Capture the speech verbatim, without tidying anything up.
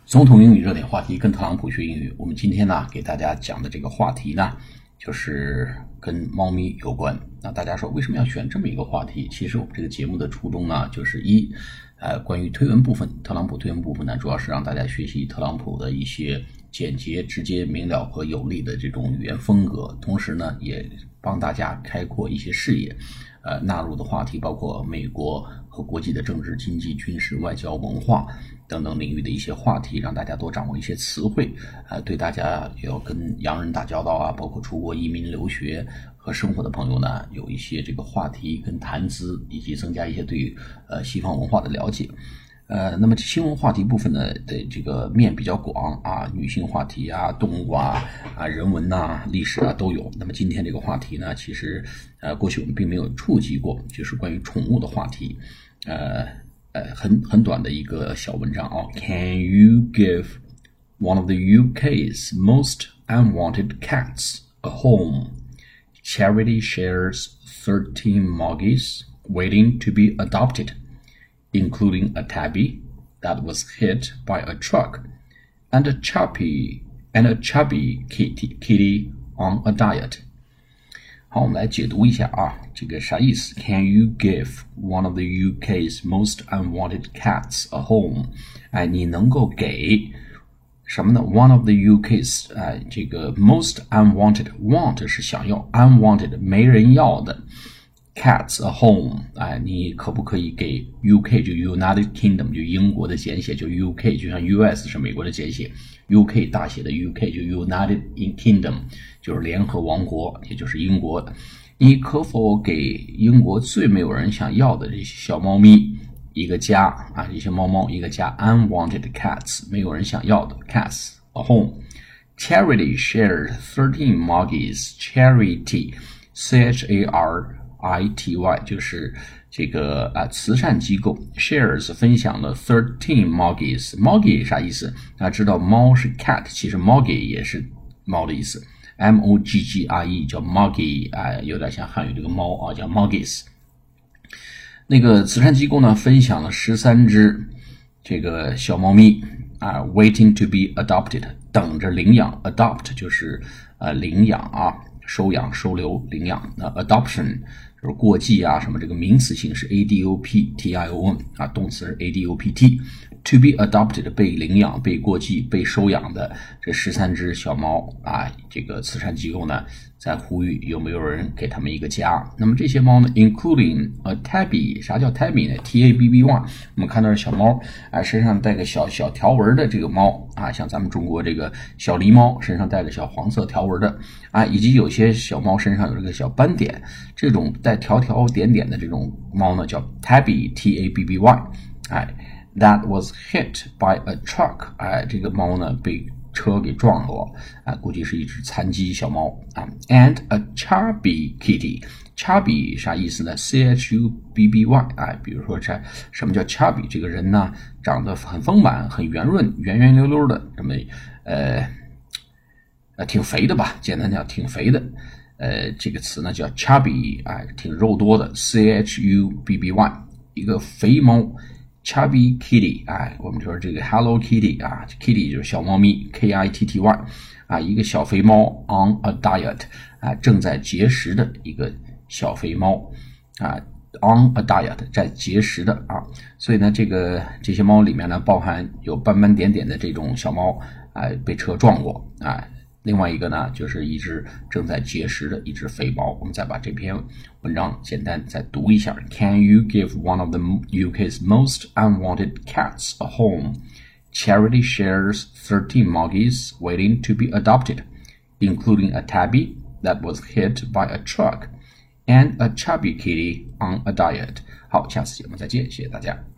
总统英语热点话题，跟特朗普学英语。我们今天呢，给大家讲的这个话题呢，就是跟猫咪有关。那大家说为什么要选这么一个话题？其实我们这个节目的初衷呢，就是一，呃，关于推文部分，特朗普推文部分呢，主要是让大家学习特朗普的一些简洁、直接、明了和有力的这种语言风格，同时呢，也帮大家开阔一些视野。呃，纳入的话题包括美国和国际的政治、经济、军事、外交、文化等等领域的一些话题，让大家多掌握一些词汇，呃，对大家要跟洋人打交道啊，包括出国移民、留学和生活的朋友呢，有一些这个话题跟谈资，以及增加一些对于呃西方文化的了解。呃，那么新闻话题部分呢的这个面比较广啊，女性话题啊、动物啊、啊人文呐、历史啊都有。那么今天这个话题呢，其实呃过去我们并没有触及过，就是关于宠物的话题。呃呃，很很短的一个小文章啊。Can you give one of the U K's most unwanted cats a home? Charity shares thirteen Moggies waiting to be adopted.Including a tabby that was hit by a truck, and a chubby and a chubby kitty kitty on a diet. 好，我们来解读一下啊，这个啥意思 ？Can you give one of the U K's most unwanted cats a home？ 哎，你能够给什么呢 ？One of the U K's， 哎，这个 most unwanted want 是想要 ，unwanted 没人要的。Cats a home， 哎，你可不可以给 U K 就 United Kingdom 就英国的简写，就 U K 就像 U S 是美国的简写 ，U K 大写的 U K 就 United Kingdom 就是联合王国，也就是英国。你可否给英国最没有人想要的这些小猫咪一个家啊？这些猫猫一个家 ，unwanted cats 没有人想要的 cats a home。Charity shares thirteen Moggies. Charity, C H A R.I T Y 就是这个啊慈善机构 shares 分享了thirteen Moggies Moggie 啥意思？大家知道猫是 cat， 其实 Moggie 也是猫的意思 M O G G I E 叫 Moggie， 啊，有点像汉语这个猫啊，叫 Moggies。那个慈善机构呢分享了十三只这个小猫咪啊 waiting to be adopted 等着领养 adopt 就是呃领养啊收养、收留、领养。那 adoption 就是过继啊，什么这个名词性是 A D O P T I O N 啊，动词是 A D O P T。To be adopted 被领养、被过继、被收养的这十三只小猫啊，这个慈善机构呢在呼吁有没有人给他们一个家。那么这些猫呢 ，including a tabby， 啥叫 tabby 呢 ？T A B B Y， 我们看到小猫啊，身上带个小小条纹的这个猫啊，像咱们中国这个小狸猫身上带个小黄色条纹的啊，以及有些小猫身上有这个小斑点，这种带条条点点的这种猫呢叫 tabby T A B B Y， 哎。That was hit by a truck， 哎，这个猫呢被车给撞了，啊，估计是一只残疾小猫啊。And a chubby kitty，chubby 啥意思呢 ？C H U B B Y， 哎，比如说这什么叫 chubby？ 这个人呢长得很丰满、很圆润、圆圆溜溜的，这么呃呃挺肥的吧？简单讲，挺肥的。呃，这个词呢叫 chubby， 哎，挺肉多的 ，C H U B B Y， 一个肥猫。Chubby Kitty， 哎，我们说这个 Hello Kitty 啊 ，Kitty 就是小猫咪 ，K I T T Y， 啊，一个小肥猫 on a diet， 啊，正在节食的一个小肥猫，啊 ，on a diet 在节食的啊，所以呢，这个这些猫里面呢，包含有斑斑点点的这种小猫，啊，被车撞过啊。另外一个呢，就是一只正在节食的一只肥猫。我们再把这篇文章简单再读一下。Can you give one of the U K's most unwanted cats a home? Charity shares thirteen Moggies waiting to be adopted, including a tabby that was hit by a truck and a chubby kitty on a diet. 好，下次节目再见，谢谢大家。